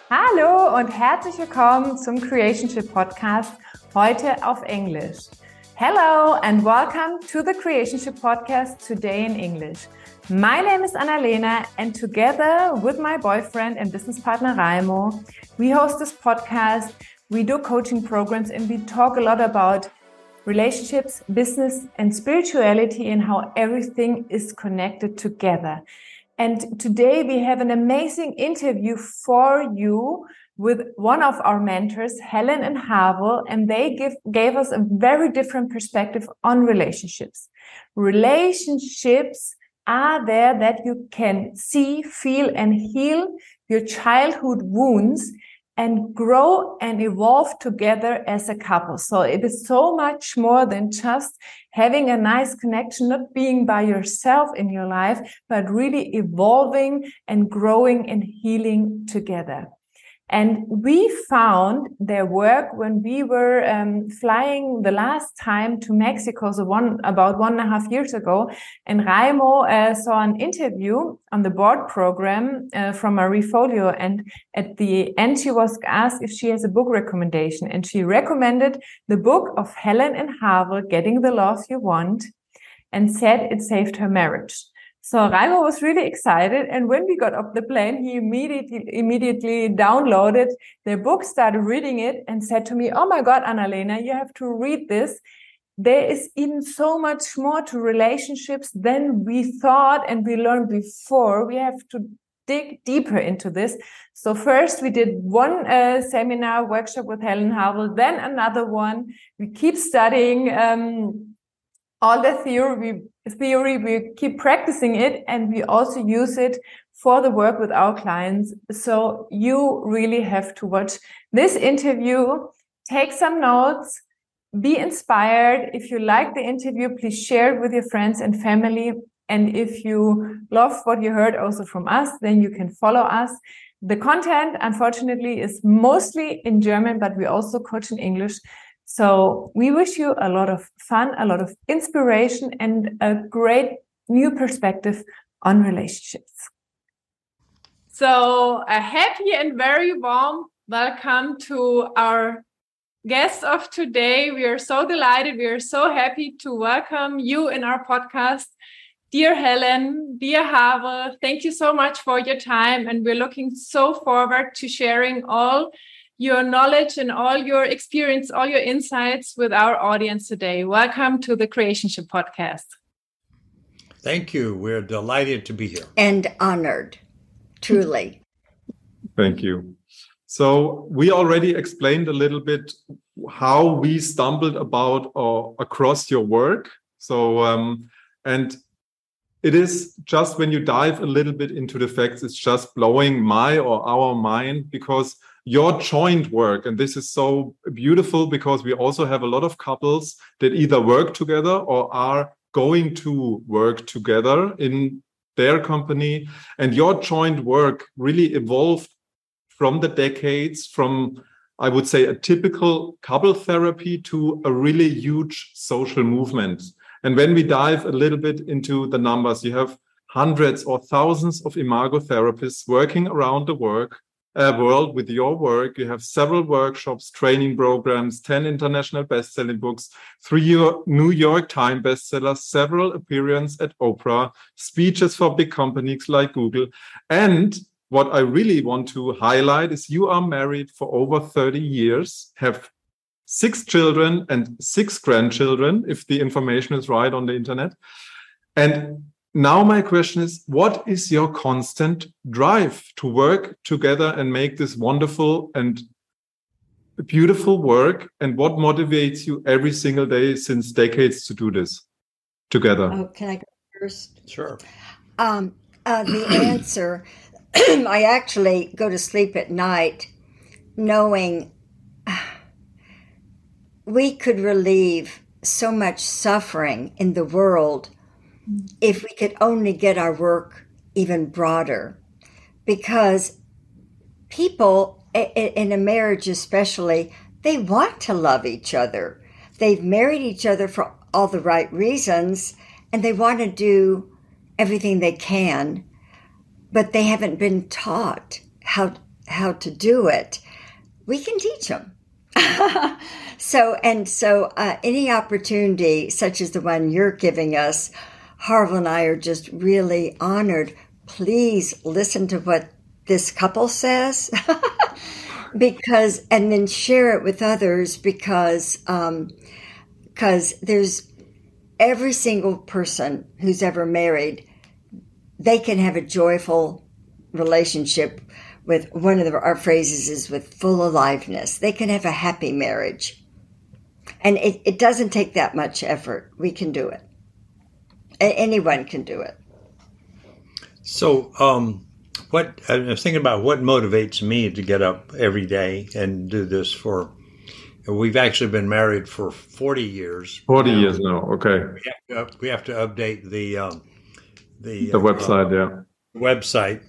Hallo und herzlich willkommen zum Creationship Podcast, heute auf Englisch. Hello and welcome to the Creationship Podcast, today in English. My name is Annalena and together with my boyfriend and business partner Raimo, we host this podcast, we do coaching programs and we talk a lot about relationships, business and spirituality and how everything is connected together. And today we have an amazing interview for you with one of our mentors, Helen and Havel, and they gave us a very different perspective on relationships. Relationships are there that you can see, feel, and heal your childhood wounds and grow and evolve together as a couple. So it is so much more than just having a nice connection, not being by yourself in your life, but really evolving and growing and healing together. And we found their work when we were flying the last time to Mexico, so about 1.5 years ago. And Raimo saw an interview on the board program from Marie Folio. And at the end, she was asked if she has a book recommendation. And she recommended the book of Helen and Havel, Getting the Love You Want, and said it saved her marriage. So Raimo was really excited. And when we got off the plane, he immediately downloaded their book, started reading it and said to me, "Oh my God, Annalena, you have to read this. There is even so much more to relationships than we thought and we learned before. We have to dig deeper into this." So first we did one seminar workshop with Helen Havel, then another one. We keep studying all the theory, we keep practicing it, and we also use it for the work with our clients. So you really have to watch this interview, take some notes, be inspired. If you like the interview, please share it with your friends and family. And if you love what you heard also from us, then you can follow us. The content, unfortunately, is mostly in German, but we also coach in English. So we wish you a lot of fun, a lot of inspiration, and a great new perspective on relationships. So a happy and very warm welcome to our guest of today. We are so delighted. We are so happy to welcome you in our podcast. Dear Helen, dear Havel, thank you so much for your time. And we're looking so forward to sharing all your knowledge and all your experience, all your insights with our audience today. Welcome to the Creationship Podcast. Thank you. We're delighted to be here. And honored, truly. Thank you. So we already explained a little bit how we stumbled about or across your work. So, and it is just when you dive a little bit into the facts, it's just blowing my or our mind, because your joint work, and this is so beautiful because we also have a lot of couples that either work together or are going to work together in their company. And your joint work really evolved from the decades, from, I would say, a typical couple therapy to a really huge social movement. And when we dive a little bit into the numbers, you have hundreds or thousands of Imago therapists working around the world with your work. You have several workshops, training programs, 10 international best-selling books, 3 New York Times bestsellers, several appearances at Oprah, speeches for big companies like Google. And what I really want to highlight is you are married for over 30 years, have 6 children and 6 grandchildren, if the information is right on the internet. And now my question is, what is your constant drive to work together and make this wonderful and beautiful work? And what motivates you every single day since decades to do this together? Oh, can I go first? Sure. The answer, I actually go to sleep at night knowing we could relieve so much suffering in the world if we could only get our work even broader. Because people, in a marriage especially, they want to love each other. They've married each other for all the right reasons, and they want to do everything they can, but they haven't been taught how how to do it, we can teach them. So any opportunity such as the one you're giving us, Harville and I are just really honored. Please listen to what this couple says, and then share it with others, because there's every single person who's ever married, they can have a joyful relationship with, one of our phrases is with full aliveness. They can have a happy marriage. And it doesn't take that much effort. We can do it. Anyone can do it. So what I was thinking about what motivates me to get up every day and do this for. We've actually been married for 40 years. 40 years now. Okay. We have to update the website. Website,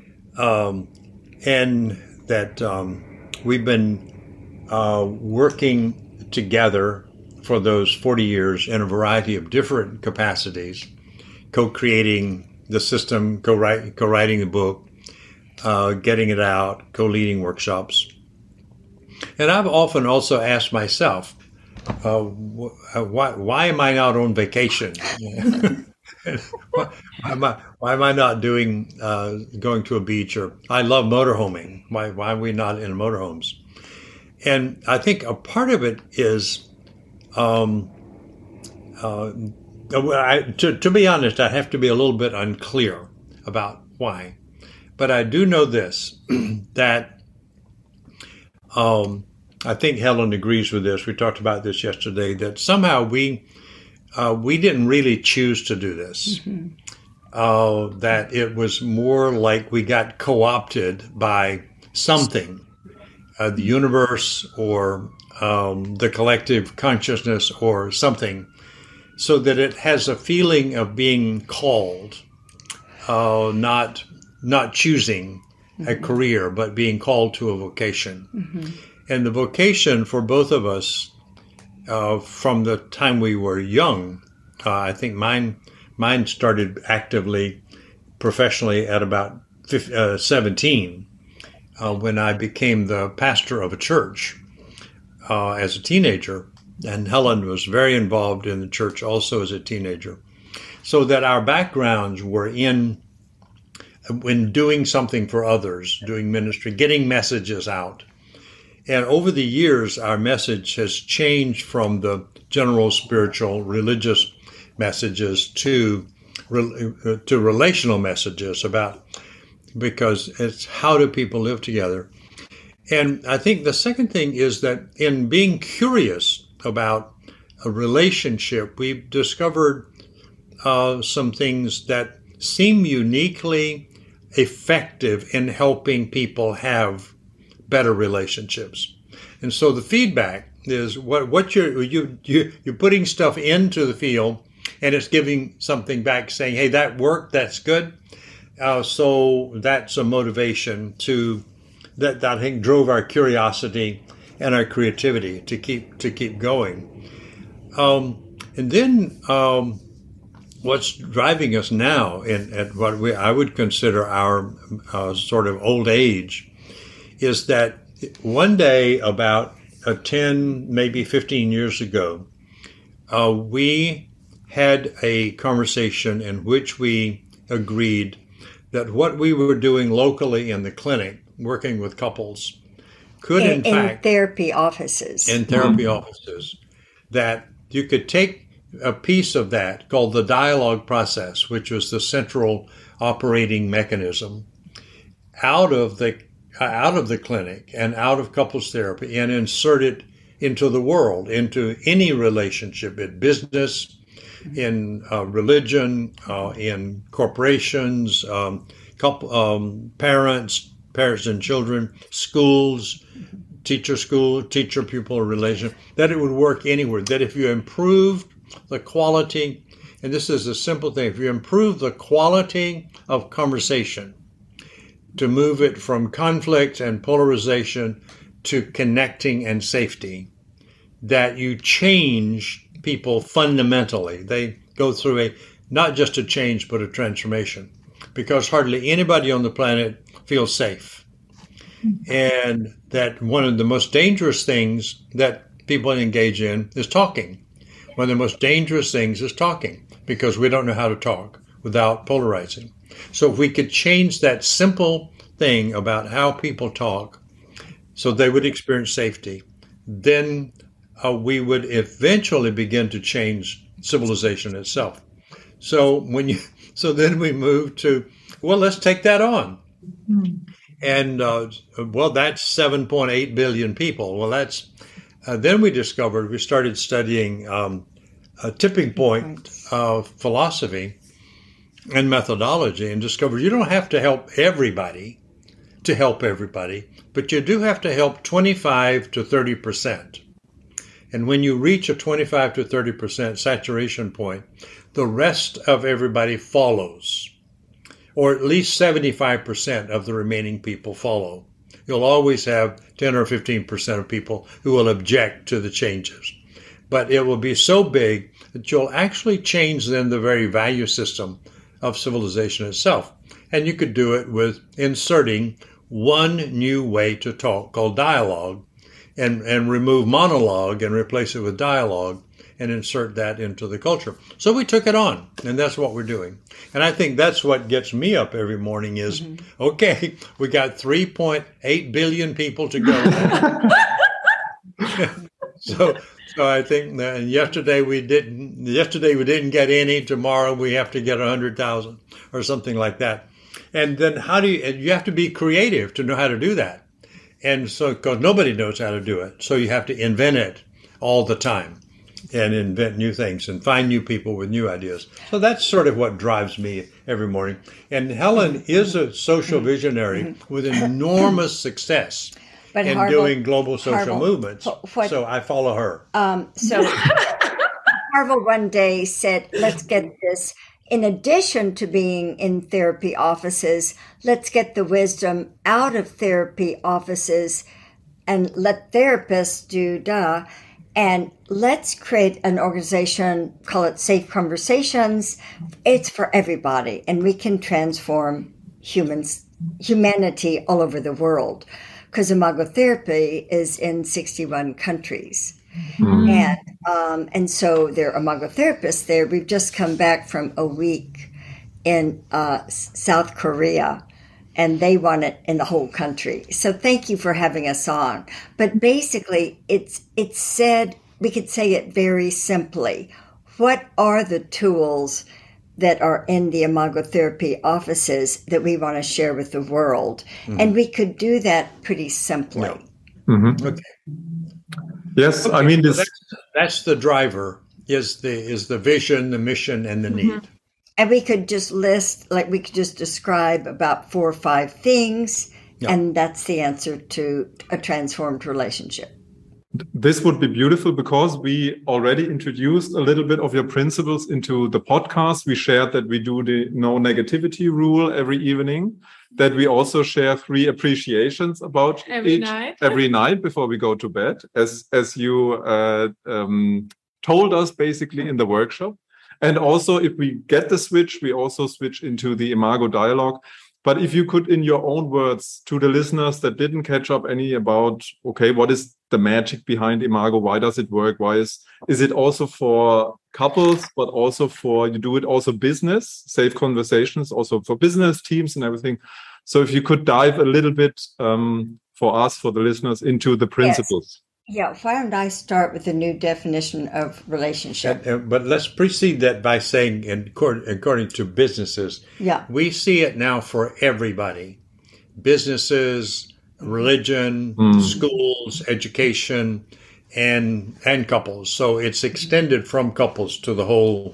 and that we've been working together for those 40 years in a variety of different capacities, co-creating the system, co-writing the book, getting it out, co-leading workshops. And I've often also asked myself, why am I not on vacation? why am I not doing going to a beach? Or I love motorhoming. Why are we not in motorhomes? And I think a part of it is, to be honest, I have to be a little bit unclear about why. But I do know this, that I think Helen agrees with this. We talked about this yesterday, that somehow we didn't really choose to do this. Mm-hmm. That it was more like we got co-opted by something, the universe or the collective consciousness or something, so that it has a feeling of being called, not choosing a career, but being called to a vocation. Mm-hmm. And the vocation for both of us, from the time we were young, I think mine started actively, professionally at about 17, when I became the pastor of a church as a teenager. And Helen was very involved in the church also as a teenager. So that our backgrounds were in doing something for others, doing ministry, getting messages out. And over the years, our message has changed from the general spiritual, religious messages to relational messages because it's how do people live together. And I think the second thing is that in being curious about a relationship, we've discovered some things that seem uniquely effective in helping people have better relationships. And so the feedback is what you're putting stuff into the field, and it's giving something back saying, hey, that worked, that's good. So that's a motivation that I think drove our curiosity and our creativity to keep going. And then what's driving us now at what I would consider our sort of old age is that one day about 10, maybe 15 years ago, we had a conversation in which we agreed that what we were doing locally in the clinic, working with couples, could in fact... In therapy offices, that you could take a piece of that called the dialogue process, which was the central operating mechanism, out of the clinic and out of couples therapy, and insert it into the world, into any relationship, in business, in religion, in corporations, parents and children, schools, teacher-pupil relation, that it would work anywhere. That if you improved the quality, and this is a simple thing, if you improve the quality of conversation, to move it from conflict and polarization to connecting and safety, that you change people fundamentally. They go through not just a change, but a transformation, because hardly anybody on the planet feels safe. and that one of the most dangerous things that people engage in is talking. One of the most dangerous things is talking, because we don't know how to talk without polarizing. So if we could change that simple thing about how people talk so they would experience safety, then we would eventually begin to change civilization itself. So then we move to, well, let's take that on. And that's 7.8 billion people. Well, that's then we started studying a tipping point philosophy and methodology, and discovered you don't have to help everybody, but you do have to help 25 to 30%. And when you reach a 25 to 30% saturation point, the rest of everybody follows, or at least 75% of the remaining people follow. You'll always have 10 or 15% of people who will object to the changes. But it will be so big that you'll actually change then the very value system of civilization itself. And you could do it with inserting one new way to talk called dialogue, and remove monologue and replace it with dialogue and insert that into the culture. So we took it on, and that's what we're doing. And I think that's what gets me up every morning is, okay, we got 3.8 billion people to go. So I think that yesterday we didn't get any. Tomorrow we have to get 100,000 or something like that. And then you have to be creative to know how to do that. And so, because nobody knows how to do it. So you have to invent it all the time and invent new things and find new people with new ideas. So that's sort of what drives me every morning. And Helen is a social visionary with enormous success in doing global social movements. So I follow her. So Harville one day said, let's get this. In addition to being in therapy offices, let's get the wisdom out of therapy offices and let therapists do and let's create an organization, call it Safe Conversations. It's for everybody, and we can transform humanity all over the world, because Imago Therapy is in 61 countries. And so there are Imago therapists there. We've just come back from a week in South Korea, and they want it in the whole country. So thank you for having us on. But basically, it's said, we could say it very simply. What are the tools that are in the Imago Therapy offices that we want to share with the world? And we could do that pretty simply. Okay. Yes, I mean, that's the driver, is the vision, the mission, and the need. And we could just we could just describe about 4 or 5 things, and that's the answer to a transformed relationship. This would be beautiful, because we already introduced a little bit of your principles into the podcast. We shared that we do the no negativity rule every evening, that we also share 3 appreciations about every night before we go to bed, as you told us basically in the workshop. And also, if we get the switch, we also switch into the Imago dialogue. But if you could, in your own words, to the listeners that didn't catch up any about, okay, what is the magic behind Imago? Why does it work? Why is it also for couples, but also you do it also business, Safe Conversations, also for business teams and everything. So if you could dive a little bit for us, for the listeners, into the principles. Yeah, why don't I start with the new definition of relationship? But let's precede that by saying, according to businesses, we see it now for everybody. Businesses, religion, schools, education, and couples. So it's extended from couples to the whole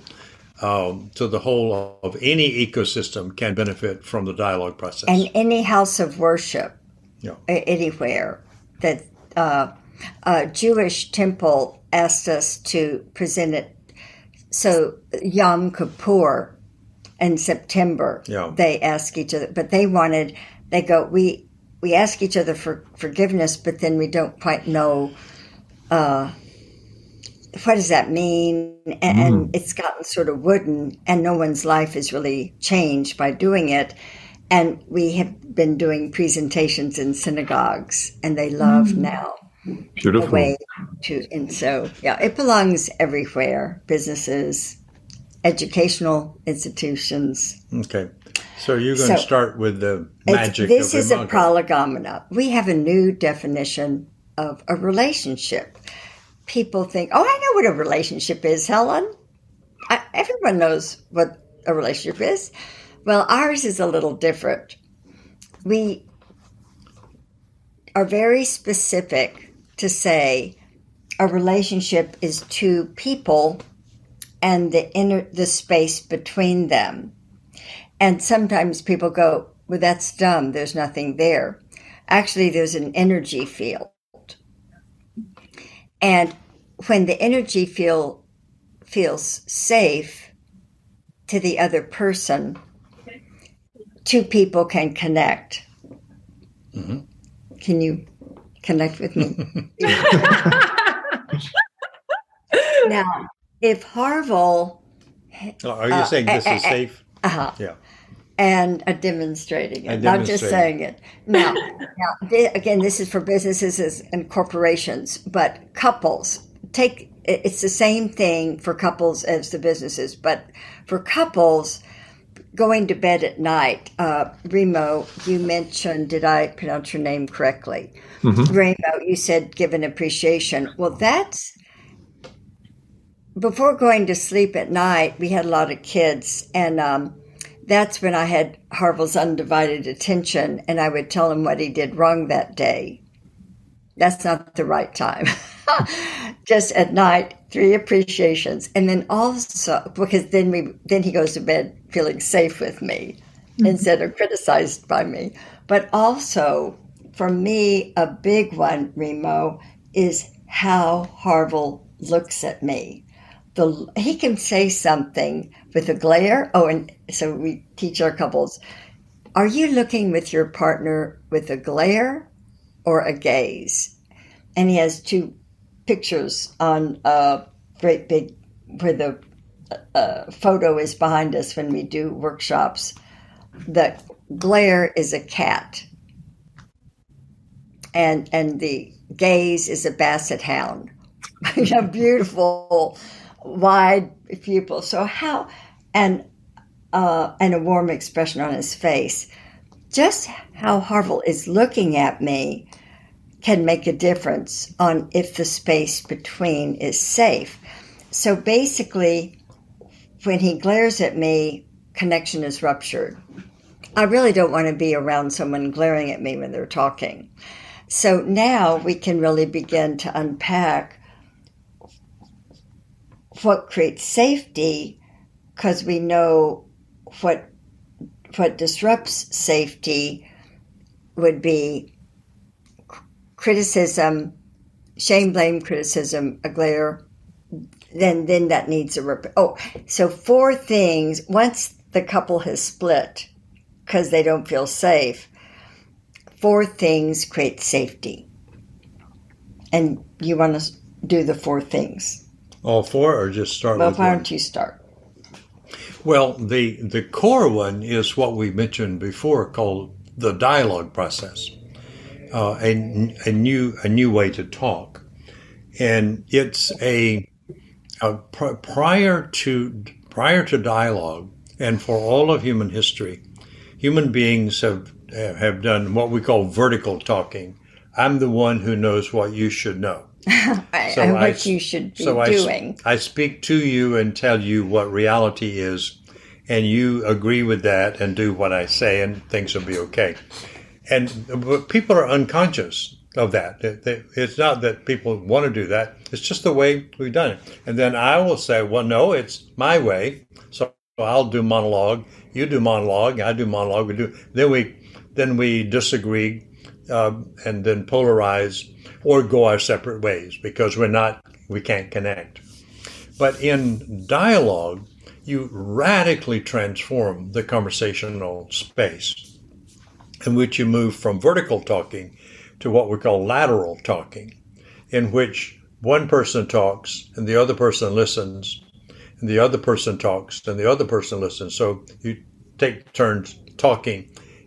of any ecosystem can benefit from the dialogue process. And any house of worship, anywhere that... Jewish temple asked us to present it. So Yom Kippur in September, they ask each other, but we ask each other for forgiveness, but then we don't quite know what does that mean? And it's gotten sort of wooden, and no one's life is really changed by doing it. And we have been doing presentations in synagogues, and they love now Beautiful. the way to. And so, yeah, it belongs everywhere. Businesses, educational institutions. Okay. So you're going to start with the magic this of is a Imago. prolegomena. We have a new definition of a relationship. People think, oh, I know what a relationship is, Helen. Everyone knows what a relationship is. Well, ours is a little different. We are very specific to say a relationship is two people and the space between them. And sometimes people go, well, that's dumb. There's nothing there. Actually, there's an energy field. And when the energy field feels safe to the other person, two people can connect. Mm-hmm. Can you connect with me? Now, if Harville... Are you saying this is safe? Yeah. And demonstrating it, not just saying it. Now, again, this is for businesses and corporations, but couples, it's the same thing for couples as the businesses, but for couples, going to bed at night, Remo, you mentioned, did I pronounce your name correctly? Mm-hmm. Remo, you said give an appreciation. Well, that's, before going to sleep at night, we had a lot of kids, and that's when I had Harville's undivided attention, and I would tell him what he did wrong that day. That's not the right time. Just at night, 3 appreciations. And then also, because then he goes to bed feeling safe with me instead of criticized by me. But also, for me, a big one, Remo, is how Harville looks at me. He can say something with a glare. Oh, and so we teach our couples, are you looking with your partner with a glare or a gaze? And he has 2 pictures on a great big, where the photo is behind us when we do workshops. The glare is a cat. And the gaze is a basset hound. A beautiful, wide pupil. So how, and a warm expression on his face. Just how Harville is looking at me can make a difference on if the space between is safe. So basically, when he glares at me, connection is ruptured. I really don't want to be around someone glaring at me when they're talking. So now we can really begin to unpack what creates safety, because we know what disrupts safety would be criticism, shame, blame, criticism, a glare. Then that needs a so 4 things. Once the couple has split because they don't feel safe, 4 things create safety. And you want to do the 4 things. All 4, or just start with why one? don't you start? Well, the core one is what we mentioned before, called the dialogue process, a new way to talk, and it's prior to dialogue, and for all of human history, human beings have done what we call vertical talking. I'm the one who knows what you should know. And what you should be doing. I speak to you and tell you what reality is, and you agree with that and do what I say, and things will be okay. But people are unconscious of that. It's not that people want to do that. It's just the way we've done it. And then I will say, well, no, it's my way. So I'll do monologue. You do monologue. I do monologue. Then we disagree, and then polarize, or go our separate ways because we can't connect. But in dialogue, you radically transform the conversational space in which you move from vertical talking to what we call lateral talking, in which one person talks and the other person listens, and the other person talks and the other person listens. So you take turns talking,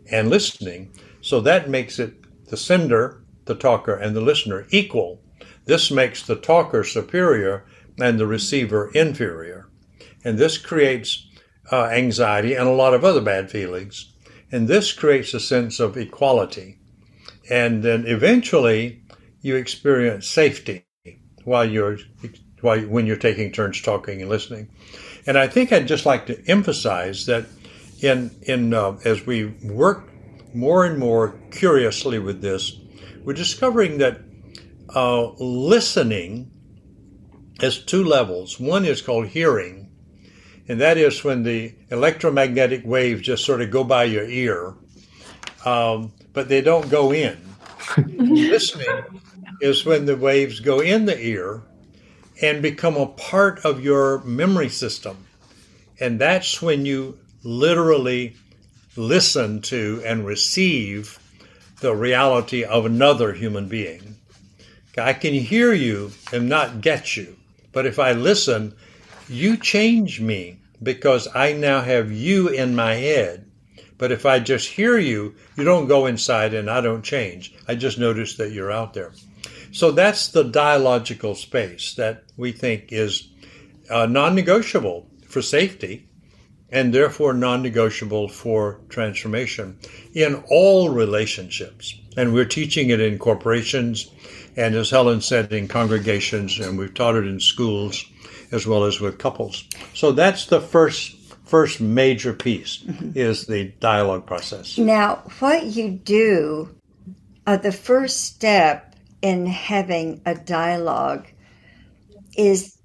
and listening. So that makes it the sender, the talker, and the listener equal. This makes the talker superior and the receiver inferior. And this creates anxiety and a lot of other bad feelings. And this creates a sense of equality. And then eventually you experience safety when you're taking turns talking and listening. And I think I'd just like to emphasize that as we work more and more curiously with this, we're discovering that listening has two levels. One is called hearing, and that is when the electromagnetic waves just sort of go by your ear, but they don't go in. Listening is when the waves go in the ear and become a part of your memory system. And that's when you literally listen to and receive the reality of another human being. I can hear you and not get you, but if I listen, you change me because I now have you in my head. But if I just hear you, you don't go inside and I don't change. I just notice that you're out there. So that's the dialogical space that we think is non-negotiable for safety and therefore non-negotiable for transformation in all relationships. And we're teaching it in corporations and, as Helen said, in congregations, and we've taught it in schools as well as with couples. So that's the first major piece is the dialogue process. Now, what you do, the first step in having a dialogue is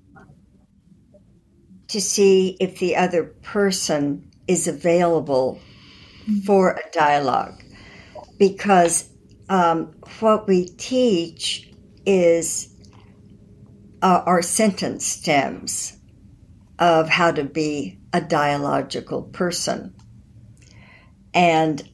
to see if the other person is available for a dialogue. Because what we teach is our sentence stems of how to be a dialogical person. And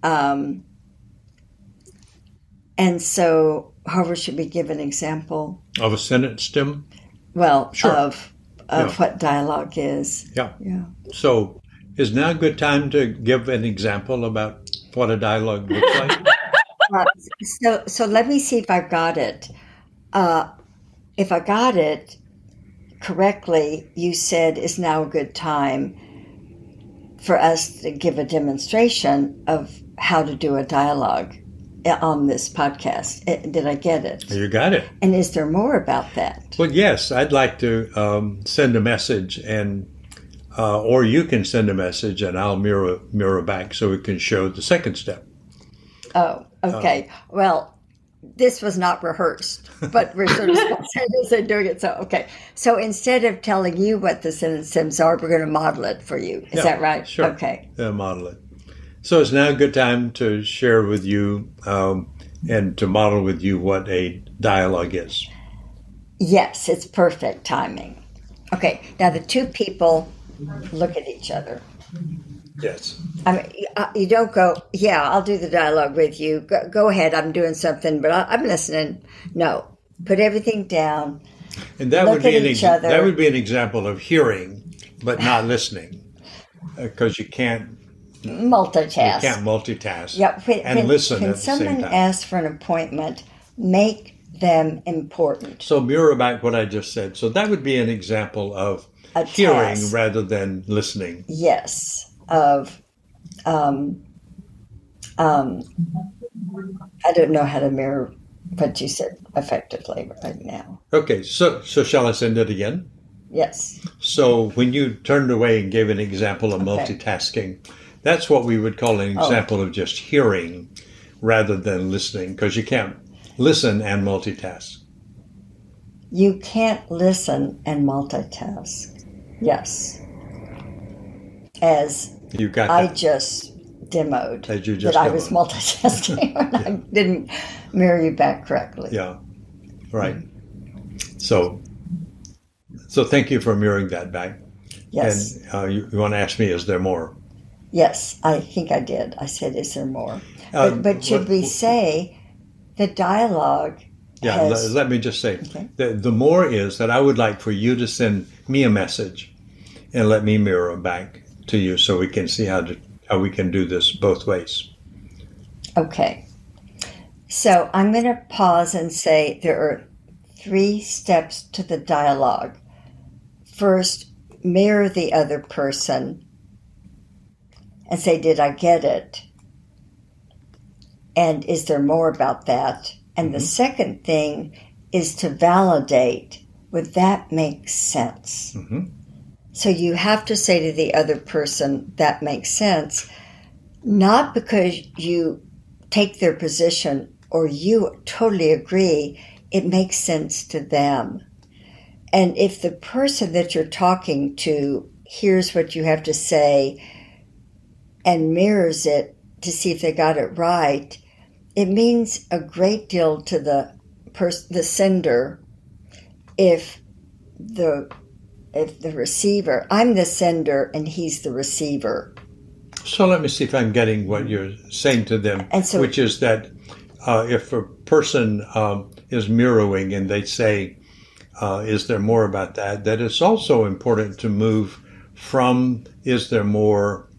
so, Harvard, should we give an example? Of a sentence stem? Well, sure. of what dialogue is. Yeah. Yeah. So is now a good time to give an example about what a dialogue looks like? So let me see if I've got it. If I got it correctly, you said is now a good time for us to give a demonstration of how to do a dialogue on this podcast. Did I get it? You got it. And is there more about that? Well, yes, I'd like to send a message, and or you can send a message, and I'll mirror back so we can show the second step. Oh, okay. Well, this was not rehearsed, but we're sort of spontaneous in doing it. So, okay. So instead of telling you what the sentence stems are, we're going to model it for you. Is that right? Sure. Okay. Model it. So it's now a good time to share with you and to model with you what a dialogue is. Yes, it's perfect timing. Okay. Now the two people look at each other. Yes. I mean, you don't go, yeah, I'll do the dialogue with you. Go ahead, I'm doing something, but I'm listening. No, put everything down. And that look would be at each other. That would be an example of hearing, but not listening, because you can't multitask. You can't multitask. Yeah, listen when at the same someone time. asks for an appointment, make them important. So mirror back what I just said. So that would be an example of A hearing task. rather than listening. Yes, of I don't know how to mirror what you said effectively right now. Okay, so shall I send it again? Yes. So when you turned away and gave an example of multitasking, that's what we would call an example of just hearing rather than listening, because you can't listen and multitask. You can't listen and multitask. Yes. As You got I that. just demoed As you just that I was demoed. multitasking when I didn't mirror you back correctly. Yeah, right. So thank you for mirroring that back. Yes. And you want to ask me, is there more? Yes, I think I did. I said, is there more? But should we say the dialogue Yeah, has... let me just say, Okay. the more is that I would like for you to send me a message and let me mirror back to you so we can see how we can do this both ways. Okay. So I'm going to pause and say there are 3 steps to the dialogue. First, mirror the other person and say, did I get it? And is there more about that? And the second thing is to validate, would that make sense? So you have to say to the other person, that makes sense, not because you take their position or you totally agree, it makes sense to them. And if the person that you're talking to hears what you have to say and mirrors it to see if they got it right, it means a great deal to the sender if the receiver, I'm the sender and he's the receiver. So let me see if I'm getting what you're saying to them, And so, which is that if a person is mirroring and they say, is there more about that, that it's also important to move from is there more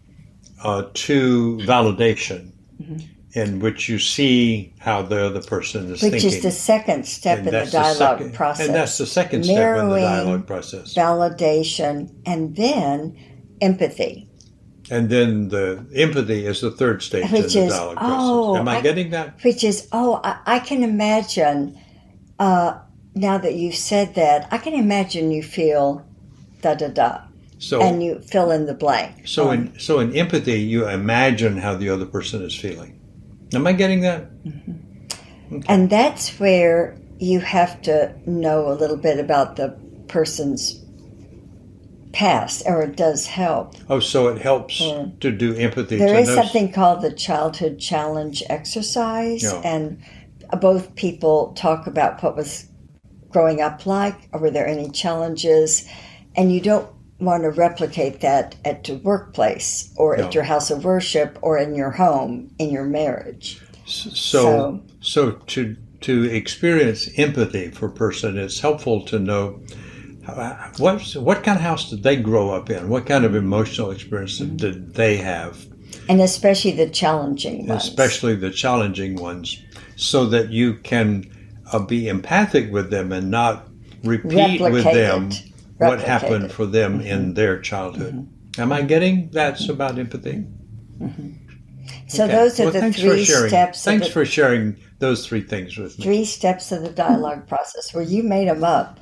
to validation, in which you see how the other person is thinking. Which is the second step in the dialogue process. And that's the second step in the dialogue process. Validation, and then empathy. And then the empathy is the third stage in the dialogue process. Am I getting that? Which is, I can imagine, now that you've said that, I can imagine you feel da-da-da. So, and you fill in the blank. So in empathy, you imagine how the other person is feeling. Am I getting that? Okay. And that's where you have to know a little bit about the person's past, or it does help. Oh, so it helps to do empathy. There is something called the childhood challenge exercise, and both people talk about what was growing up like, or were there any challenges, and you don't want to replicate that at your workplace or at your house of worship or in your home, in your marriage. So to experience empathy for a person, it's helpful to know what kind of house did they grow up in? What kind of emotional experience did they have? And especially the challenging ones. Especially the challenging ones, so that you can be empathic with them and not repeat with them what happened for them in their childhood. Am I getting that's about empathy? So those are the 3 steps. Thanks for sharing those 3 things with me. 3 steps of the dialogue process. Well, you made them up.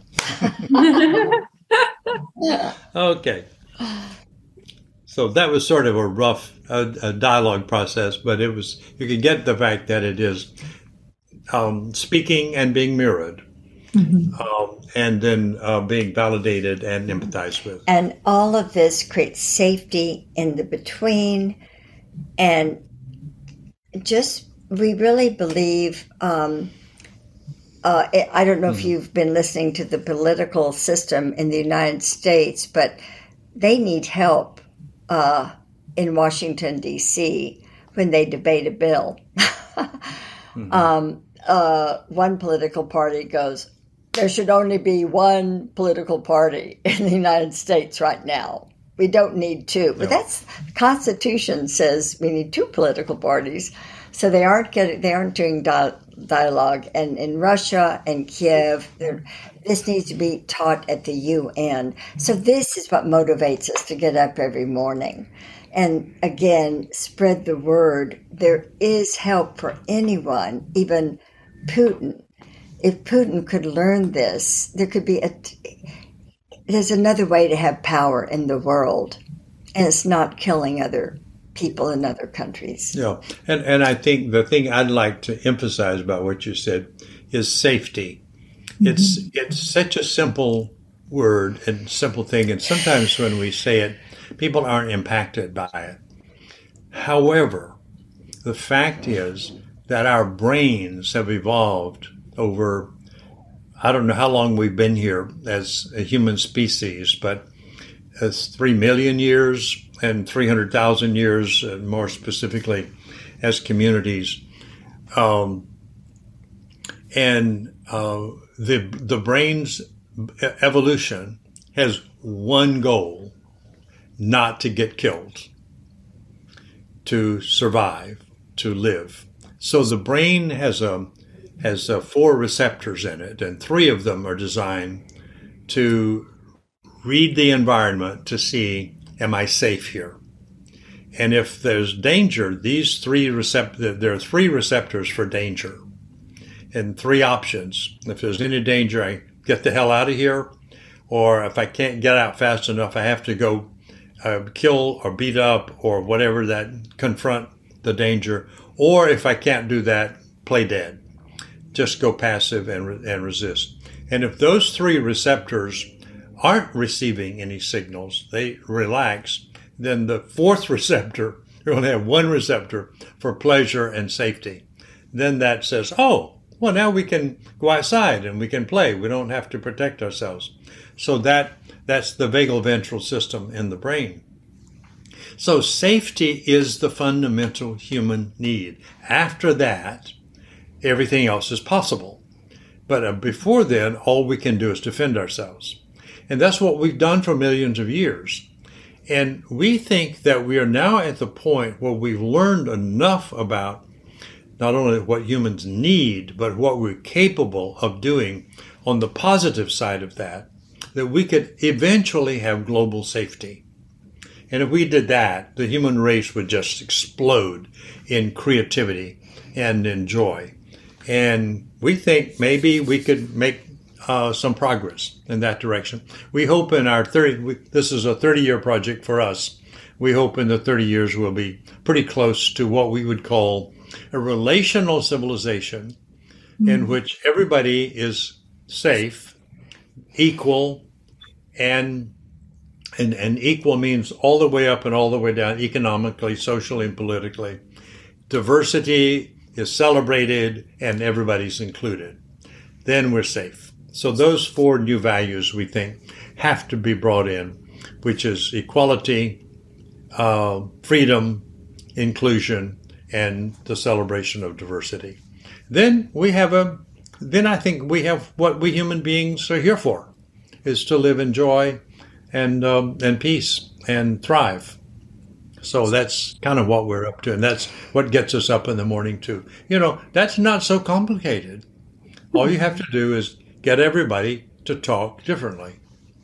Okay. So that was sort of a rough dialogue process, but it was, you could get the fact that it is speaking and being mirrored. And then being validated and empathized with. And all of this creates safety in the between. And just, we really believe, I don't know if you've been listening to the political system in the United States, but they need help in Washington, D.C. when they debate a bill. One political party goes, there should only be one political party in the United States right now. We don't need 2. But that's, the Constitution says we need 2 political parties. So they aren't doing dialogue. And in Russia and Kiev, this needs to be taught at the UN. So this is what motivates us to get up every morning. And again, spread the word. There is help for anyone, even Putin. If Putin could learn this, there could be there's another way to have power in the world, and it's not killing other people in other countries. Yeah, and I think the thing I'd like to emphasize about what you said is safety. It's such a simple word and simple thing, and sometimes when we say it, people aren't impacted by it. However, the fact is that our brains have evolved over, I don't know how long we've been here as a human species, but as 3 million years and 300,000 years, more specifically, as communities. The brain's evolution has one goal: not to get killed, to survive, to live. So the brain has 4 receptors in it, and 3 of them are designed to read the environment to see, am I safe here? And if there's danger, there are 3 receptors for danger and 3 options. If there's any danger, I get the hell out of here. Or if I can't get out fast enough, I have to go kill or beat up or whatever that confront the danger. Or if I can't do that, play dead. Just go passive and resist. And if those 3 receptors aren't receiving any signals, they relax, then the 4th receptor, you only have 1 receptor for pleasure and safety. Then that says, oh, well, now we can go outside and we can play. We don't have to protect ourselves. So that's the vagal ventral system in the brain. So safety is the fundamental human need. After that, everything else is possible. But before then, all we can do is defend ourselves. And that's what we've done for millions of years. And we think that we are now at the point where we've learned enough about not only what humans need, but what we're capable of doing on the positive side of that we could eventually have global safety. And if we did that, the human race would just explode in creativity and in joy. And we think maybe we could make some progress in that direction. We hope in our this is a 30-year project for us. We hope in the 30 years we'll be pretty close to what we would call a relational civilization in which everybody is safe, equal, and equal means all the way up and all the way down, economically, socially, and politically. Diversity is celebrated and everybody's included. Then we're safe. So those 4 new values we think have to be brought in, which is equality, freedom, inclusion, and the celebration of diversity. Then I think we have what we human beings are here for, is to live in joy and peace and thrive. So that's kind of what we're up to, and that's what gets us up in the morning too. That's not so complicated. All you have to do is get everybody to talk differently.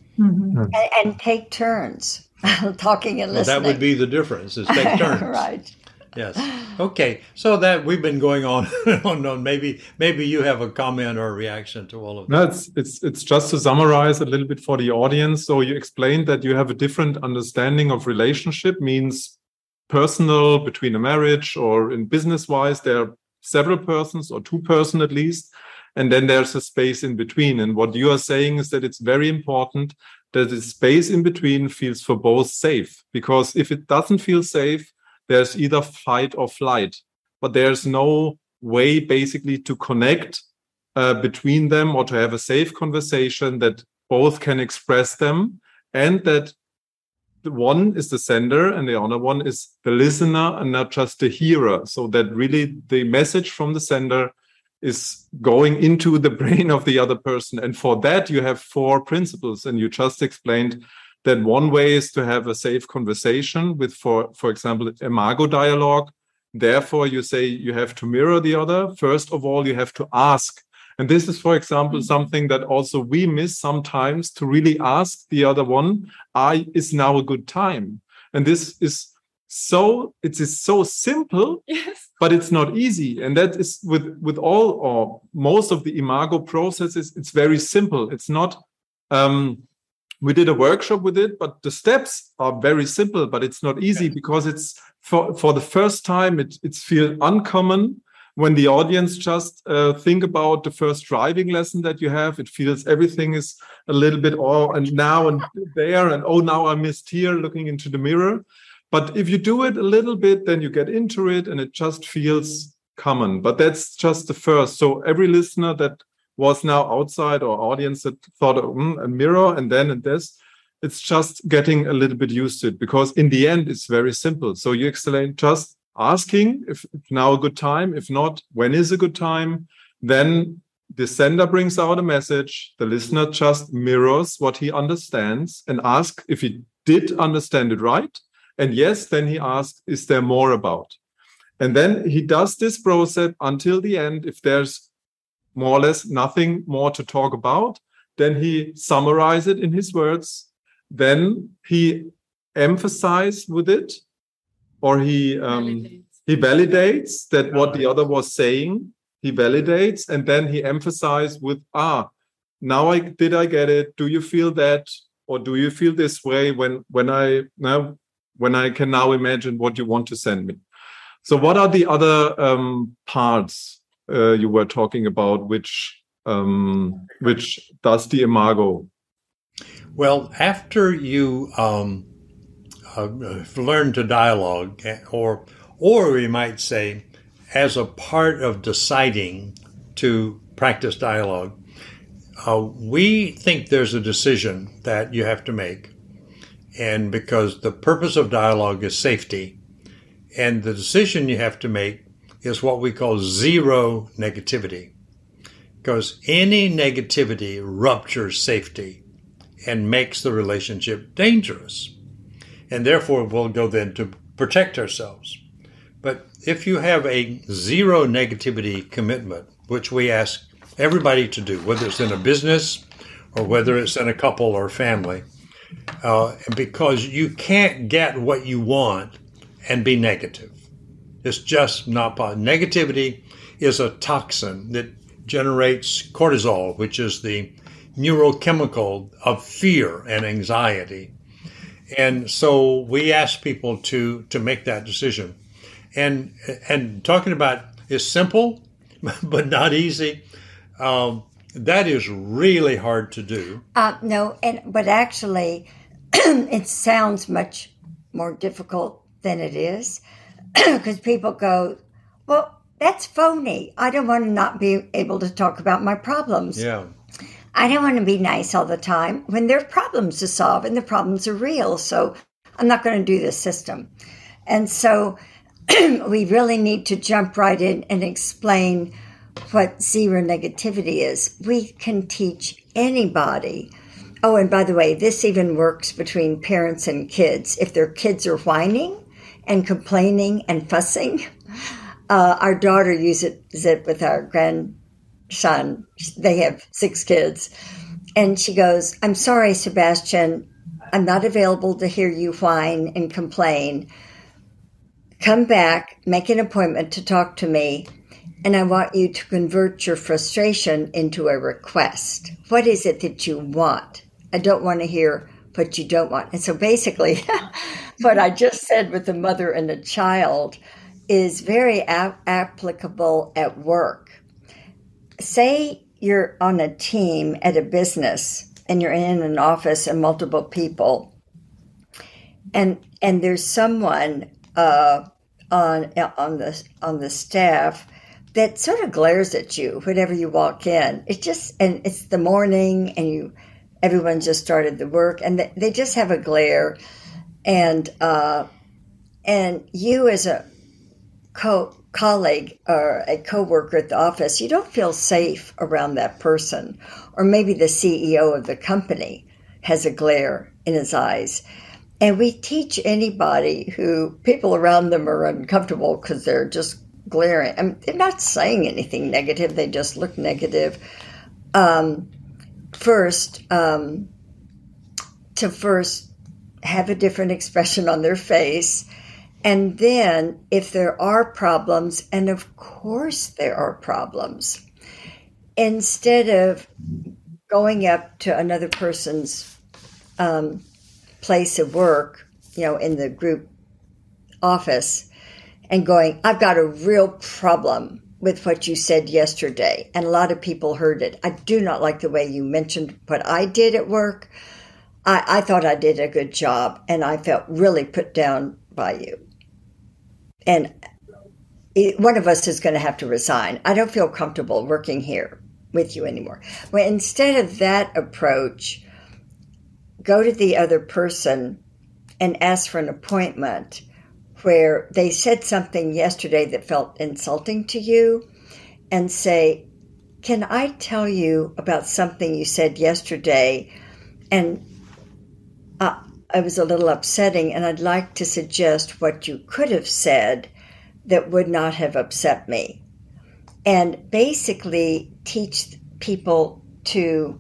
And take turns talking and listening. That would be the difference, is take turns. Right. Yes. Okay. So that we've been going on and on. Maybe you have a comment or a reaction to all of that. No, it's just to summarize a little bit for the audience. So you explained that you have a different understanding of relationship, means personal, between a marriage, or in business-wise, there are several persons or 2 persons at least. And then there's a space in between. And what you are saying is that it's very important that the space in between feels for both safe. Because if it doesn't feel safe, there's either fight or flight. But there's no way basically to connect between them or to have a safe conversation that both can express them, and that the one is the sender and the other one is the listener and not just the hearer. So that really the message from the sender is going into the brain of the other person. And for that, you have 4 principles. And you just explained that one way is to have a safe conversation with, for example, imago dialogue. Therefore, you say you have to mirror the other. First of all, you have to ask. And this is, for example, something that also we miss sometimes, to really ask the other one, is now a good time? And this is so simple, yes, but it's not easy. And that is with all or most of the imago processes, it's very simple. It's not, we did a workshop with it, but the steps are very simple, but it's not easy because it's for the first time, it feels uncommon. When the audience just think about the first driving lesson that you have, it feels everything is a little bit and now and there, and now I missed here, looking into the mirror. But if you do it a little bit, then you get into it and it just feels common. But that's just the first. So every listener that was now outside or audience that thought a mirror and then and this, it's just getting a little bit used to it, because in the end, it's very simple. So you explain just asking if now a good time, if not, when is a good time. Then the sender brings out a message, the listener just mirrors what he understands and asks if he did understand it right. And yes, then he asks, is there more about? And then he does this process until the end. If there's more or less nothing more to talk about, then he summarizes it in his words. Then he emphasizes with it, or he validates that what the other was saying. He validates, and then he emphasizes with, now I get it. Do you feel that, or do you feel this way when I can now imagine what you want to send me? So what are the other parts you were talking about, which does the imago? Well, after you learn to dialogue, or we might say, as a part of deciding to practice dialogue, we think there's a decision that you have to make. And because the purpose of dialogue is safety, and the decision you have to make is what we call zero negativity. Because any negativity ruptures safety and makes the relationship dangerous. And therefore, we'll go then to protect ourselves. But if you have a zero negativity commitment, which we ask everybody to do, whether it's in a business or whether it's in a couple or family, because you can't get what you want and be negative. It's just not possible. Negativity is a toxin that generates cortisol, which is the neurochemical of fear and anxiety. And so we ask people to make that decision. And talking about is simple, but not easy. That is really hard to do. No, but actually, it sounds much more difficult than it is, because people go, well, that's phony. I don't want to not be able to talk about my problems. Yeah. I don't want to be nice all the time when there are problems to solve and the problems are real. So I'm not going to do this system. And so we really need to jump right in and explain what zero negativity is. We can teach anybody. Oh, and by the way, this even works between parents and kids. If their kids are whining and complaining and fussing, our daughter uses it with our grandson. They have 6 kids. And she goes, I'm sorry, Sebastian, I'm not available to hear you whine and complain. Come back, make an appointment to talk to me, and I want you to convert your frustration into a request. What is it that you want? I don't want to hear what you don't want. And so basically, what I just said with the mother and the child is very applicable at work. Say you're on a team at a business and you're in an office and multiple people, and there's someone on the staff that sort of glares at you whenever you walk in. It's the morning and everyone just started the work and they just have a glare, and you as a colleague or a coworker at the office, you don't feel safe around that person. Or maybe the CEO of the company has a glare in his eyes. And we teach anybody who people around them are uncomfortable because they're just glaring. I mean, they're not saying anything negative. They just look negative. First have a different expression on their face. And then if there are problems, and of course there are problems, instead of going up to another person's place of work, in the group office, and going, I've got a real problem with what you said yesterday. And a lot of people heard it. I do not like the way you mentioned what I did at work. I thought I did a good job, and I felt really put down by you. And one of us is going to have to resign. I don't feel comfortable working here with you anymore. Well, instead of that approach, go to the other person and ask for an appointment where they said something yesterday that felt insulting to you, and say, can I tell you about something you said yesterday? And it was a little upsetting, and I'd like to suggest what you could have said that would not have upset me. And basically teach people to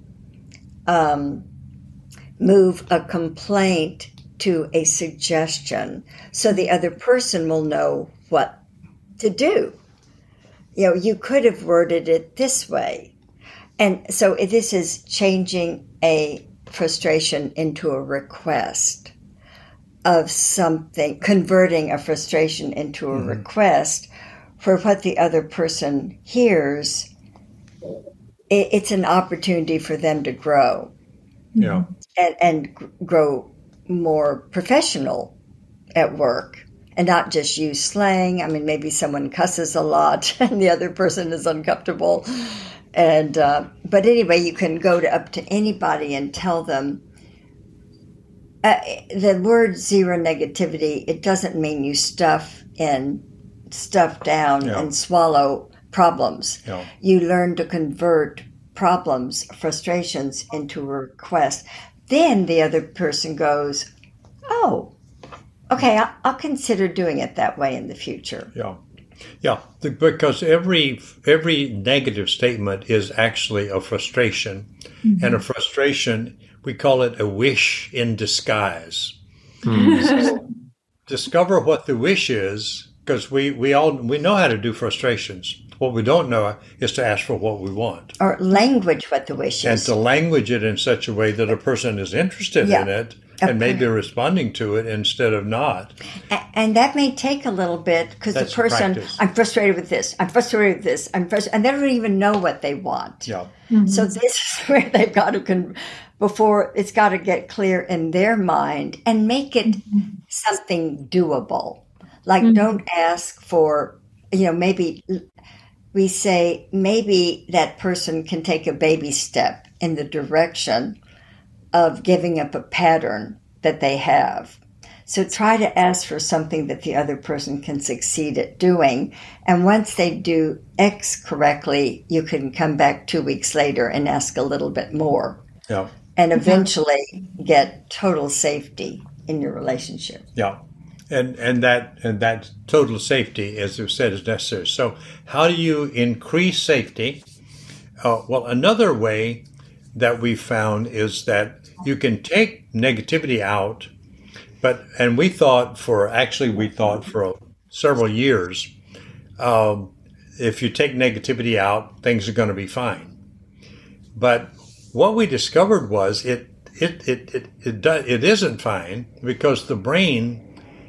move a complaint to a suggestion so the other person will know what to do. You know, you could have worded it this way. And so this is changing a frustration into a request of something, converting a frustration into a request for what the other person hears. It's an opportunity for them to grow. Yeah. And grow more professional at work and not just use slang. I mean, maybe someone cusses a lot and the other person is uncomfortable. And but anyway, you can go up to anybody and tell them the word zero negativity. It doesn't mean you stuff down and swallow problems. Yeah. You learn to convert problems, frustrations into a request. Then the other person goes, oh, okay, I'll consider doing it that way in the future. Yeah. Yeah, because every negative statement is actually a frustration. Mm-hmm. And a frustration, we call it a wish in disguise. Mm-hmm. So discover what the wish is, because we know how to do frustrations. What we don't know is to ask for what we want. Or language what the wish is. And to language it in such a way that a person is interested in it and maybe responding to it instead of not. And that may take a little bit because the person, practice. I'm frustrated with this, I'm frustrated with this, and they don't even know what they want. Yeah. Mm-hmm. So this is where they've got to, before it's got to get clear in their mind and make it something doable. Like don't ask for, maybe we say maybe that person can take a baby step in the direction of giving up a pattern that they have. So try to ask for something that the other person can succeed at doing. And once they do X correctly, you can come back 2 weeks later and ask a little bit more. Yeah. And eventually get total safety in your relationship. Yeah. And that total safety, as you said, is necessary. So how do you increase safety? Well, another way that we found is that you can take negativity out, and we thought for several years, if you take negativity out, things are going to be fine. But what we discovered was it isn't fine, because the brain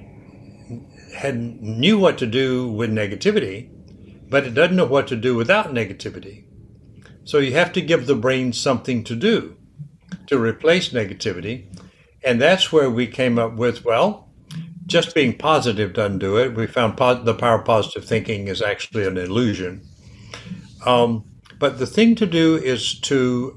knew what to do with negativity, but it doesn't know what to do without negativity. So you have to give the brain something to do to replace negativity. And that's where we came up with, well, just being positive doesn't do it. We found the power of positive thinking is actually an illusion. But the thing to do is to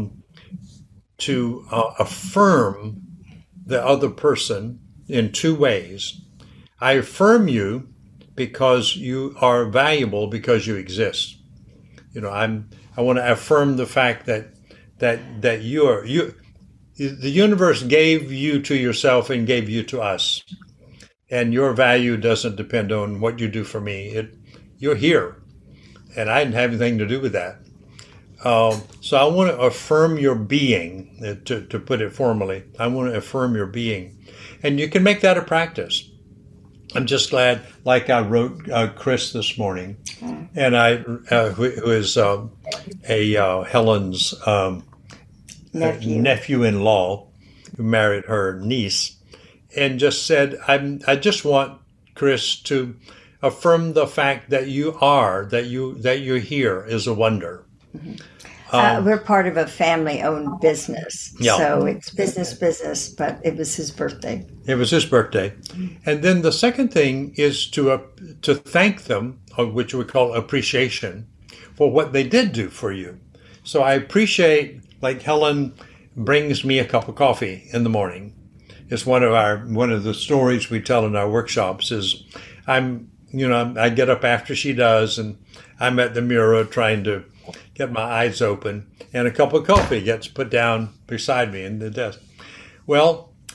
affirm the other person in two ways. I affirm you because you are valuable, because you exist. I want to affirm the fact that the universe gave you to yourself and gave you to us, and your value doesn't depend on what you do for me. You're here, and I didn't have anything to do with that. So I want to affirm your being. To put it formally, I want to affirm your being, and you can make that a practice. I'm just glad, like I wrote Chris this morning, and who is Helen's nephew-in-law, who married her niece, and just said, I just want Chris to affirm the fact that you're here is a wonder. Mm-hmm. We're part of a family-owned business, so it's business, but it was his birthday. It was his birthday. And then the second thing is to thank them, which we call appreciation, for what they did do for you. So I appreciate, like Helen brings me a cup of coffee in the morning. It's one of the stories we tell in our workshops is I get up after she does, and I'm at the mirror trying to get my eyes open, and a cup of coffee gets put down beside me in the desk. Well,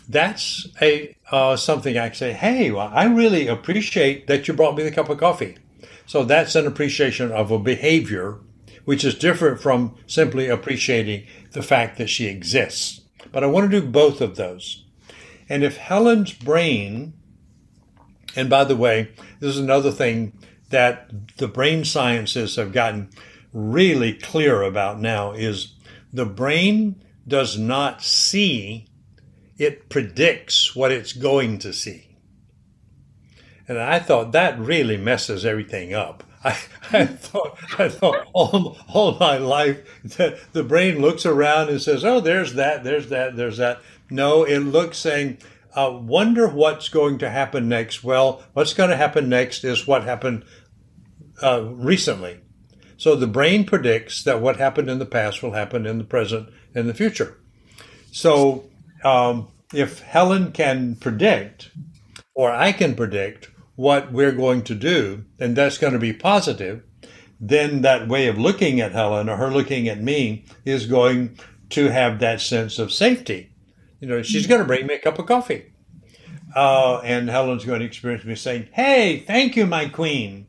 that's something I can say, hey, well, I really appreciate that you brought me the cup of coffee. So that's an appreciation of a behavior, which is different from simply appreciating the fact that she exists. But I want to do both of those. And if Helen's brain, and by the way, this is another thing that the brain sciences have gotten really clear about now, is the brain does not see, it predicts what it's going to see. And I thought that really messes everything up. I thought all my life that the brain looks around and says, oh, there's that, there's that, there's that. No, it looks saying, wonder what's going to happen next. Well, what's going to happen next is what happened recently. So the brain predicts that what happened in the past will happen in the present and the future. So if Helen can predict, or I can predict what we're going to do, and that's going to be positive, then that way of looking at Helen or her looking at me is going to have that sense of safety. You know, she's going to bring me a cup of coffee. And Helen's going to experience me saying, hey, thank you, my queen.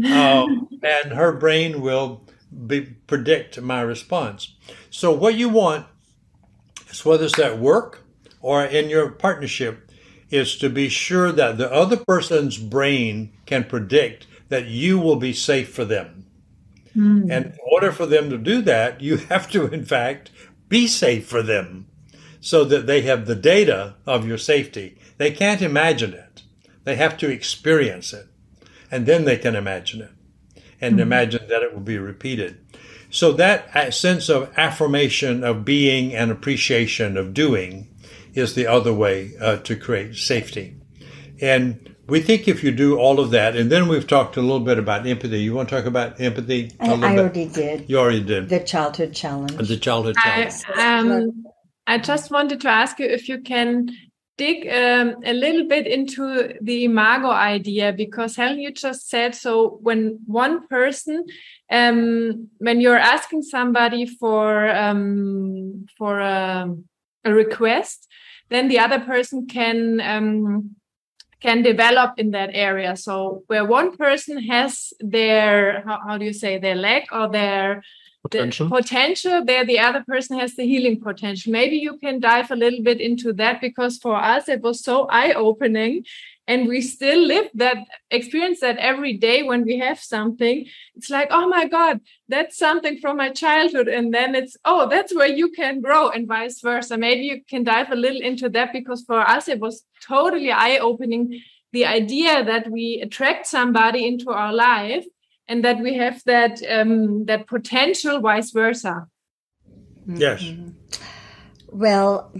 And her brain will predict my response. So what you want is, whether it's at work or in your partnership, is to be sure that the other person's brain can predict that you will be safe for them. And in order for them to do that, you have to, in fact, be safe for them so that they have the data of your safety. They can't imagine it. They have to experience it. And then they can imagine it and imagine that it will be repeated. So that sense of affirmation of being and appreciation of doing is the other way to create safety. And we think if you do all of that, and then we've talked a little bit about empathy. You want to talk about empathy a little bit? I already did. You already did. The childhood challenge. The childhood challenge. I just wanted to ask you if you can dig a little bit into the imago idea, because Helen, you just said, so when one person, when you're asking somebody for a request, then the other person can develop in that area. So where one person has their, how do you say, their leg or their potential, there the other person has the healing potential. Maybe you can dive a little bit into that, because for us it was so eye-opening, and we still experience that every day when we have something. It's like, oh my God, that's something from my childhood. And then it's, oh, that's where you can grow, and vice versa. Maybe you can dive a little into that, because for us it was totally eye-opening, the idea that we attract somebody into our life and that we have that potential, vice versa. Yes. Well,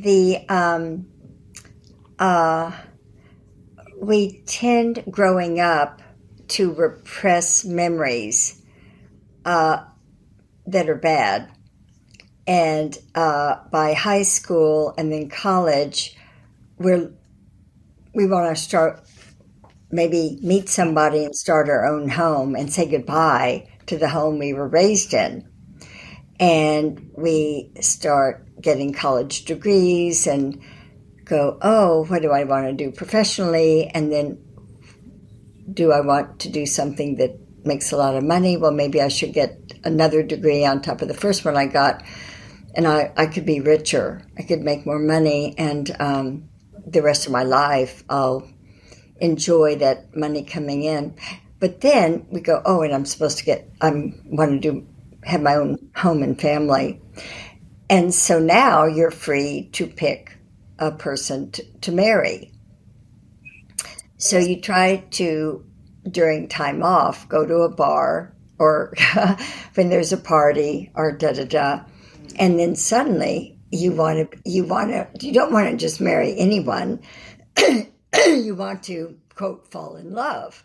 we tend growing up to repress memories that are bad. And by high school and then college, we want to start, maybe meet somebody and start our own home and say goodbye to the home we were raised in. And we start getting college degrees and go, oh, what do I want to do professionally? And then, do I want to do something that makes a lot of money? Well, maybe I should get another degree on top of the first one I got, and I could be richer. I could make more money, and the rest of my life I'll enjoy that money coming in. But then we go, oh, and I'm supposed to have my own home and family. And so now you're free to pick a person to marry. So you try to, during time off, go to a bar or when there's a party or da-da-da. And then suddenly you don't want to just marry anyone. You want to, quote, fall in love.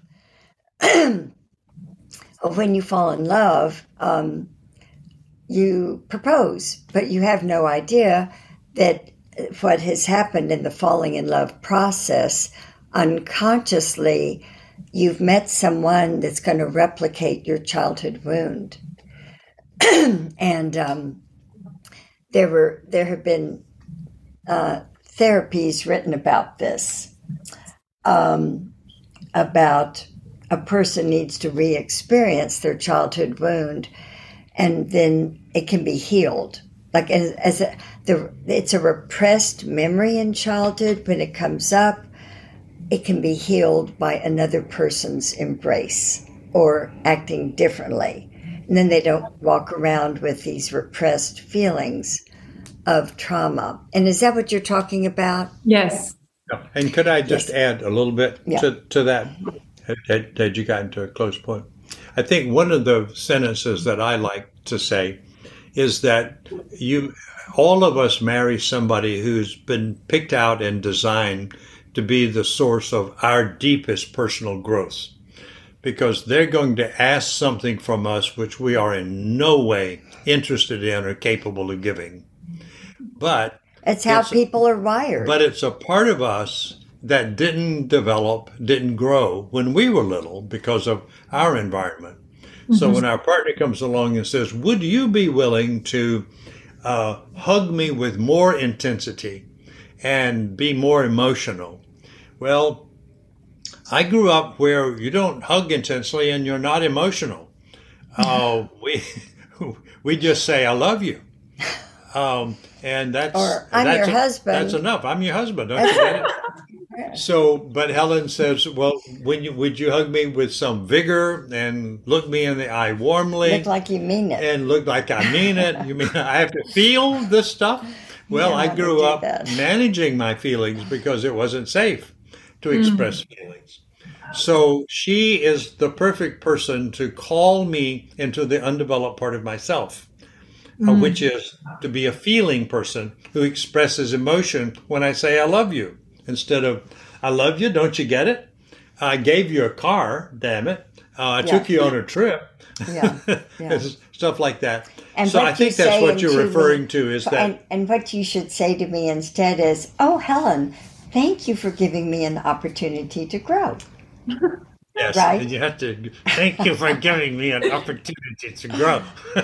When you fall in love, you propose, but you have no idea that what has happened in the falling in love process, unconsciously, you've met someone that's going to replicate your childhood wound. And there have been therapies written about this, about a person needs to re-experience their childhood wound, and then it can be healed. Like it's a repressed memory in childhood. When it comes up, it can be healed by another person's embrace or acting differently. And then they don't walk around with these repressed feelings of trauma. And is that what you're talking about? Yes. And could I just add a little bit Yeah. to that? Had you gotten to a close point? I think one of the sentences that I like to say is that all of us marry somebody who's been picked out and designed to be the source of our deepest personal growth, because they're going to ask something from us which we are in no way interested in or capable of giving. But It's how people are wired. But it's a part of us that didn't develop, didn't grow when we were little because of our environment. Mm-hmm. So when our partner comes along and says, would you be willing to hug me with more intensity and be more emotional? Well, I grew up where you don't hug intensely and you're not emotional. We just say, I love you. And that's, or I'm your husband. That's enough. I'm your husband. Don't you get it? So, but Helen says, well, would you hug me with some vigor and look me in the eye warmly? Look like you mean it. And look like I mean it. You mean I have to feel this stuff? Well, Yeah, I grew up that. managing my feelings because it wasn't safe to express feelings. So she is the perfect person to call me into the undeveloped part of myself, which is to be a feeling person who expresses emotion when I say I love you. Instead of, I love you, don't you get it? I gave you a car, damn it. I took you on a trip. Yeah. Stuff like that. And so I think that's what you're referring to is that. And what you should say to me instead is, oh, Helen, thank you for giving me an opportunity to grow. Yes, right? And you have to thank you for giving me an opportunity to grow.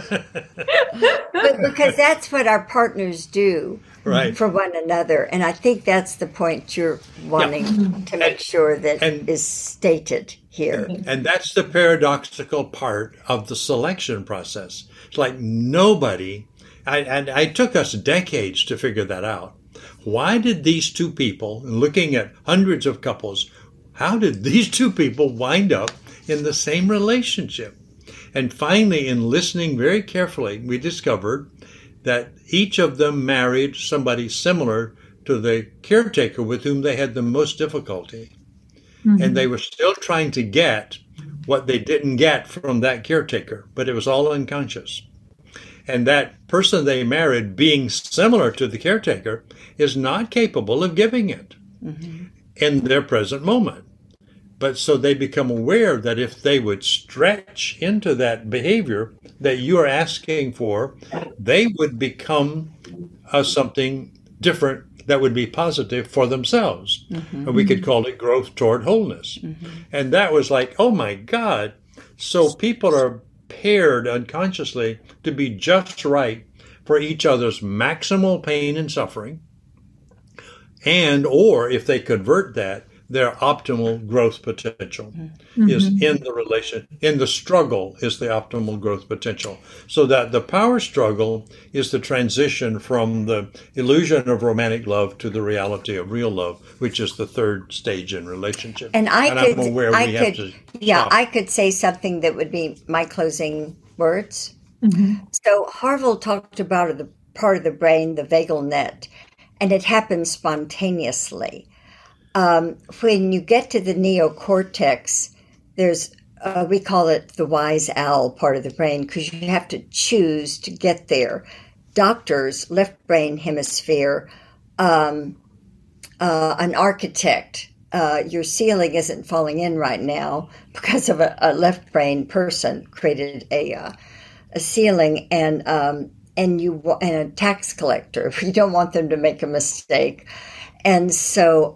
But because that's what our partners do Right. for one another. And I think that's the point you're wanting to make sure that is stated here. And that's the paradoxical part of the selection process. It's like nobody, I took us decades to figure that out. Why did these two people, looking at hundreds of couples, how did these two people wind up in the same relationship? And finally, in listening very carefully, we discovered that each of them married somebody similar to the caretaker with whom they had the most difficulty. Mm-hmm. And they were still trying to get what they didn't get from that caretaker, but it was all unconscious. And that person they married, being similar to the caretaker, is not capable of giving it in their present moment. But so they become aware that if they would stretch into that behavior that you are asking for, they would become something different that would be positive for themselves. And we could call it growth toward wholeness. And that was like, oh my God. So people are paired unconsciously to be just right for each other's maximal pain and suffering. And, or if they convert that, their optimal growth potential is in the relation, in the struggle is the optimal growth potential. So that the power struggle is the transition from the illusion of romantic love to the reality of real love, which is the third stage in relationship. And I'm aware we have to stop. I could say something that would be my closing words. So Harville talked about the part of the brain, the vagal net, and it happens spontaneously. When you get to the neocortex, there's, we call it the wise owl part of the brain because you have to choose to get there. Doctors, left brain hemisphere, an architect, your ceiling isn't falling in right now because of a left brain person created a ceiling and a tax collector. You don't want them to make a mistake. And so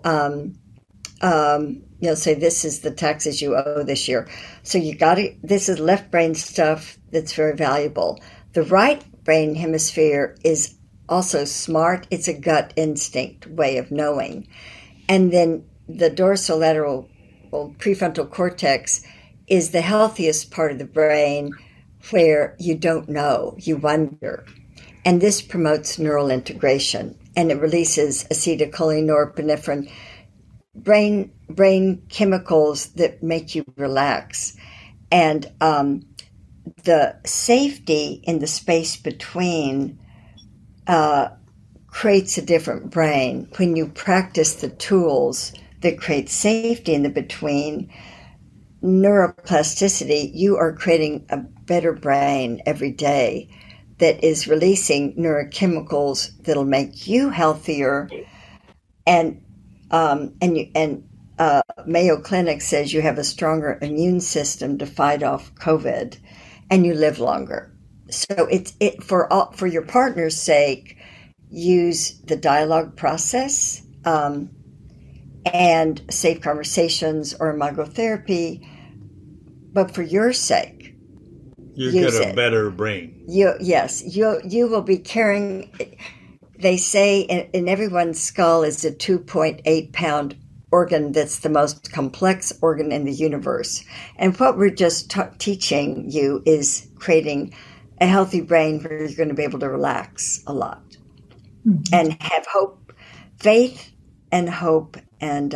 you'll say, this is the taxes you owe this year. So this is left brain stuff that's very valuable. The right brain hemisphere is also smart. It's a gut instinct way of knowing. And then the dorsolateral prefrontal cortex is the healthiest part of the brain where you don't know, you wonder. And this promotes neural integration, and it releases acetylcholine, norepinephrine, brain chemicals that make you relax. And the safety in the space between creates a different brain. When you practice the tools that create safety in the between, neuroplasticity, you are creating a better brain every day that is releasing neurochemicals that'll make you healthier. And Mayo Clinic says you have a stronger immune system to fight off COVID, and you live longer. So for your partner's sake, use the dialogue process and safe conversations or imagotherapy. But for your sake, you get a better brain. You will be carrying. They say in everyone's skull is a 2.8 pound organ that's the most complex organ in the universe. And what we're just teaching you is creating a healthy brain where you're going to be able to relax a lot and have hope, faith and hope, and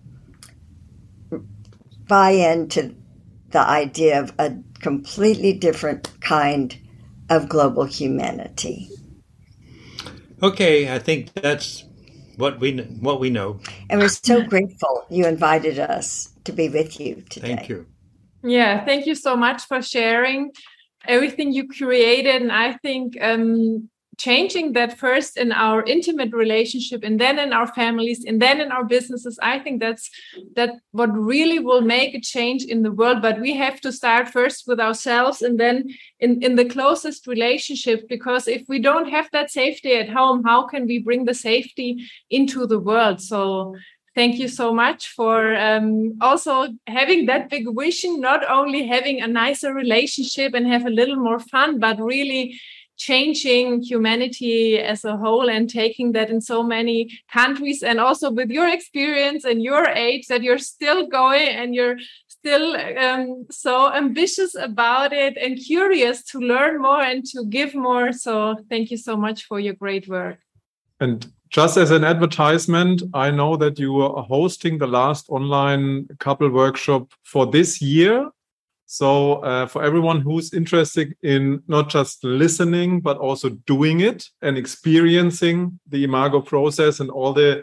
buy into the idea of a completely different kind of global humanity. Okay, I think that's what we know. And we're so grateful you invited us to be with you today. Thank you. Yeah, thank you so much for sharing everything you created. And I think changing that first in our intimate relationship, and then in our families, and then in our businesses, I think that's what really will make a change in the world. But we have to start first with ourselves, and then in the closest relationship, because if we don't have that safety at home, how can we bring the safety into the world? So thank you so much for also having that big vision, not only having a nicer relationship and have a little more fun, but really changing humanity as a whole and taking that in so many countries. And also with your experience and your age, that you're still going and you're still so ambitious about it and curious to learn more and to give more. So thank you so much for your great work. And just as an advertisement, I know that you are hosting the last online couple workshop for this year. So for everyone who's interested in not just listening, but also doing it and experiencing the Imago process and all the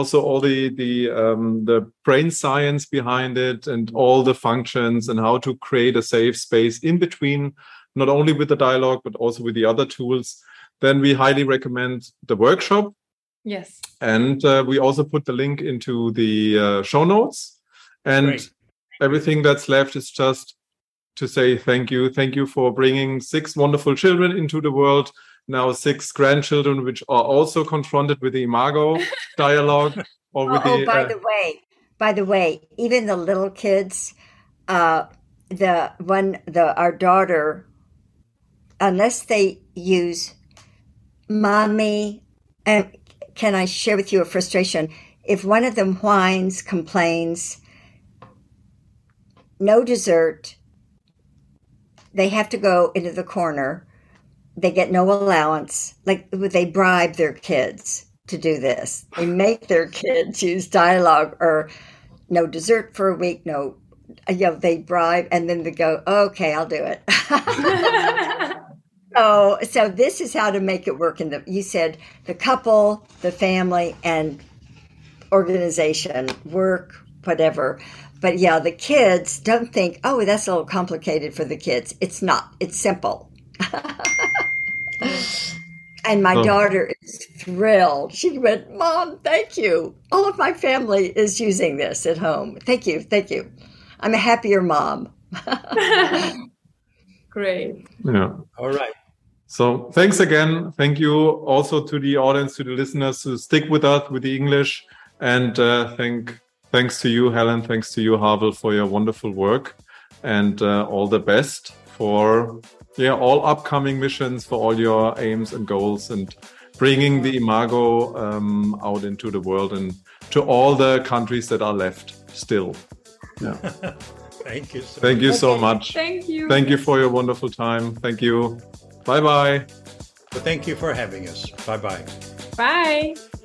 brain science behind it and all the functions and how to create a safe space in between, not only with the dialogue, but also with the other tools, then we highly recommend the workshop. Yes. And we also put the link into the show notes. And Great. Everything that's left is just to say thank you. Thank you for bringing 6 wonderful children into the world. Now 6 grandchildren, which are also confronted with the Imago dialogue. Or with by the way, even the little kids, our daughter, unless they use mommy, and can I share with you a frustration? If one of them whines, complains, no dessert, they have to go into the corner. They get no allowance. Like they bribe their kids to do this. They make their kids use dialogue or no dessert for a week. No, they bribe and then they go, okay, I'll do it. So this is how to make it work. You said the couple, the family, and organization, work, whatever. But yeah, the kids don't think, oh, that's a little complicated for the kids. It's not. It's simple. And my daughter is thrilled. She went, Mom, thank you. All of my family is using this at home. Thank you. Thank you. I'm a happier mom. Great. Yeah. All right. So thanks again. Thank you also to the audience, to the listeners who stick with us with the English. And thanks to you, Helen. Thanks to you, Havel, for your wonderful work. And all the best for all upcoming missions, for all your aims and goals. And bringing the Imago out into the world and to all the countries that are left still. Yeah. Thank you. Thank you so much. Thank you. Thank you for your wonderful time. Thank you. Bye-bye. Thank you for having us. Bye-bye. Bye.